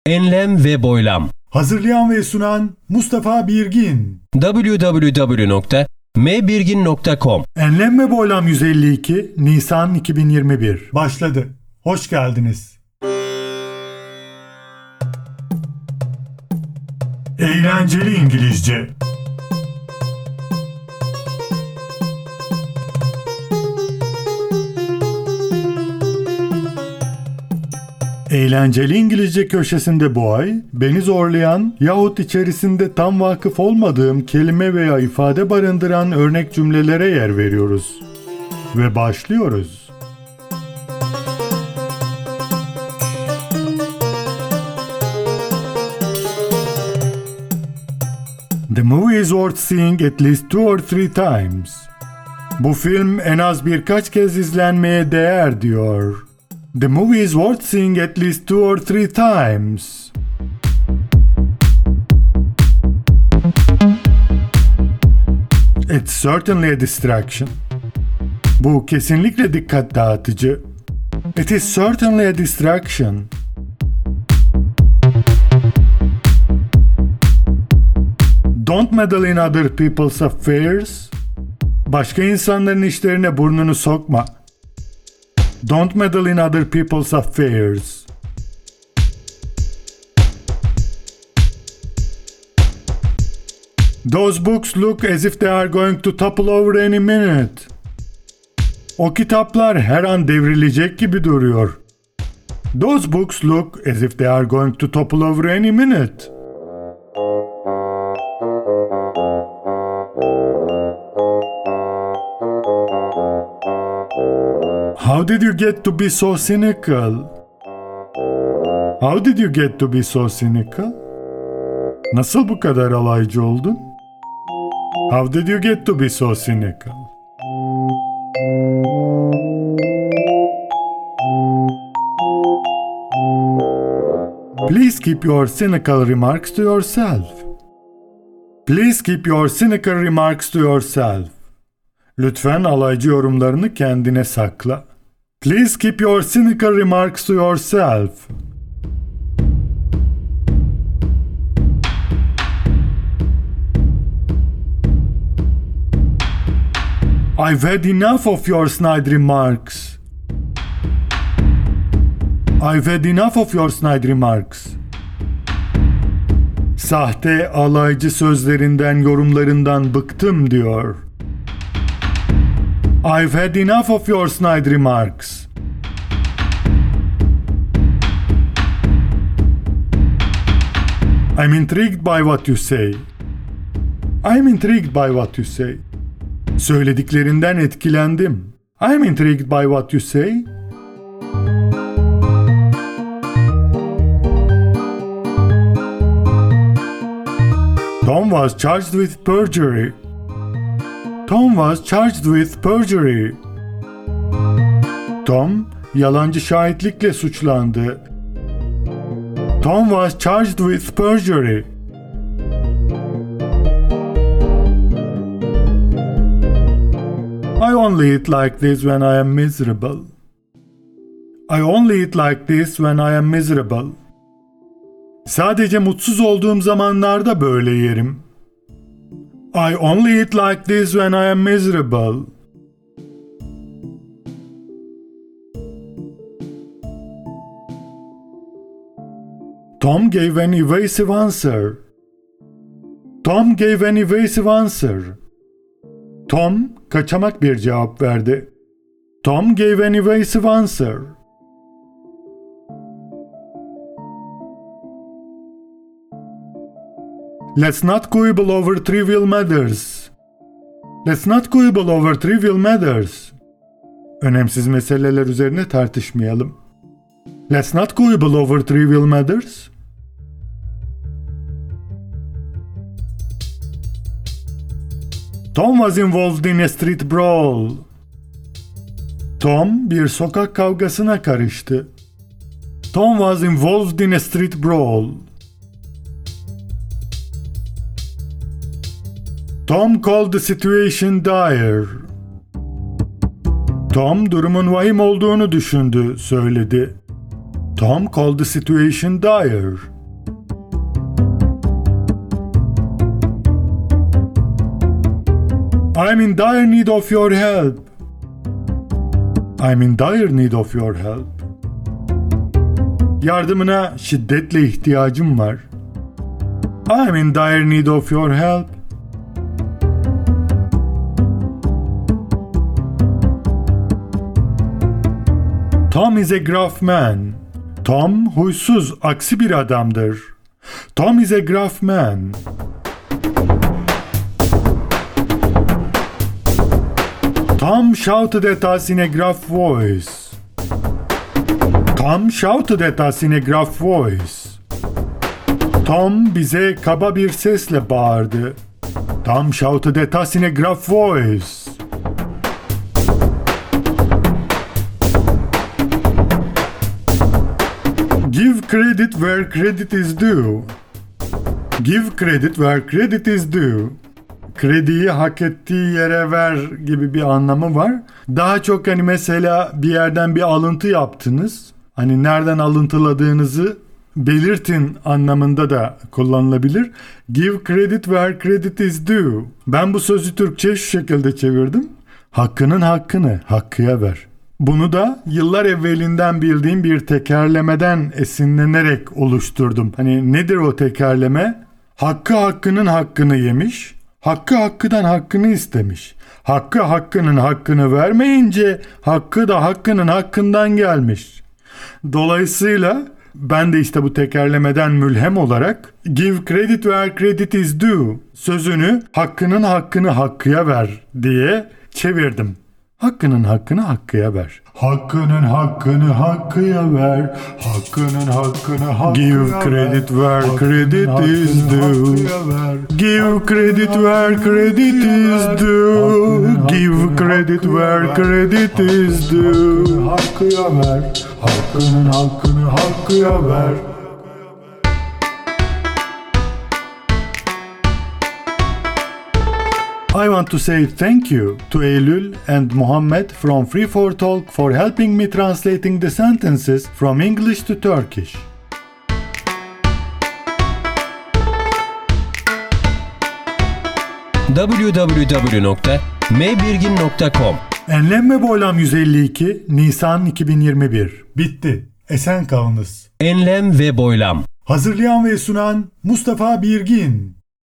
Enlem ve boylam. Hazırlayan ve sunan Mustafa Birgin. www.mbirgin.com. Enlem ve Boylam 152 Nisan 2021 başladı. Hoş geldiniz. Eğlenceli İngilizce. Eğlenceli İngilizce köşesinde bu ay, beni zorlayan yahut içerisinde tam vakıf olmadığım kelime veya ifade barındıran örnek cümlelere yer veriyoruz. Ve başlıyoruz. The movie is worth seeing at least 2 or 3 times. Bu film en az birkaç kez izlenmeye değer diyor. The movie is worth seeing at least 2 or 3 times. It's certainly a distraction. Bu kesinlikle dikkat dağıtıcı. It is certainly a distraction. Don't meddle in other people's affairs. Başka insanların işlerine burnunu sokma. Don't meddle in other people's affairs. Those books look as if they are going to topple over any minute. O kitaplar her an devrilecek gibi duruyor. Those books look as if they are going to topple over any minute. How did you get to be so cynical? How did you get to be so cynical? Nasıl bu kadar alaycı oldun? How did you get to be so cynical? Please keep your cynical remarks to yourself. Please keep your cynical remarks to yourself. Lütfen alaycı yorumlarını kendine sakla. Please keep your cynical remarks to yourself. I've had enough of your snide remarks. I've had enough of your snide remarks. Sahte, alaycı sözlerinden, yorumlarından bıktım diyor. I've had enough of your snide remarks. I'm intrigued by what you say. I'm intrigued by what you say. Söylediklerinden etkilendim. I'm intrigued by what you say. Tom was charged with perjury. Tom was charged with perjury. Tom, yalancı şahitlikle suçlandı. Tom was charged with perjury. I only eat like this when I am miserable. I only eat like this when I am miserable. Sadece mutsuz olduğum zamanlarda böyle yerim. I only eat like this when I am miserable. Tom gave an evasive answer. Tom gave an evasive answer. Tom, kaçamak bir cevap verdi. Tom gave an evasive answer. Let's not quibble over trivial matters. Let's not quibble over trivial matters. Önemsiz meseleler üzerine tartışmayalım. Let's not quibble over trivial matters. Tom was involved in a street brawl. Tom bir sokak kavgasına karıştı. Tom was involved in a street brawl. Tom called the situation dire. Tom durumun vahim olduğunu düşündü, söyledi. Tom called the situation dire. I'm in dire need of your help. I'm in dire need of your help. Yardımına şiddetle ihtiyacım var. I'm in dire need of your help. Tom is a gruff man. Tom huysuz, aksi bir adamdır. Tom is a gruff man. Tom shouted at us in a gruff voice. Tom shouted at us in a gruff voice. Tom bize kaba bir sesle bağırdı. Tom shouted at us in a gruff voice. Give credit where credit is due. Give credit where credit is due. Krediyi hak ettiği yere ver gibi bir anlamı var. Daha çok hani mesela bir yerden bir alıntı yaptınız. Hani nereden alıntıladığınızı belirtin anlamında da kullanılabilir. Give credit where credit is due. Ben bu sözü Türkçe şu şekilde çevirdim. Hakkının hakkını hakkıya ver. Bunu da yıllar evvelinden bildiğim bir tekerlemeden esinlenerek oluşturdum. Hani nedir o tekerleme? Hakkı hakkının hakkını yemiş, hakkı hakkıdan hakkını istemiş. Hakkı hakkının hakkını vermeyince hakkı da hakkının hakkından gelmiş. Dolayısıyla ben de işte bu tekerlemeden mülhem olarak give credit where credit is due sözünü hakkının hakkını hakkıya ver diye çevirdim. Hakkının hakkını hakkıya ver. Hakkının hakkını hakkıya ver. Hakkının hakkını hakkıya give credit where credit is due. Give credit where credit is due. Give credit where credit is due. Hakkıya ver. Hakkının hakkını hakkıya ver. I want to say thank you to Eylül and Muhammed from Free4Talk for helping me translating the sentences from English to Turkish. www.mbirgin.com Enlem ve Boylam 152 Nisan 2021. Bitti. Esen kalınız. Enlem ve Boylam. Hazırlayan ve sunan Mustafa Birgin.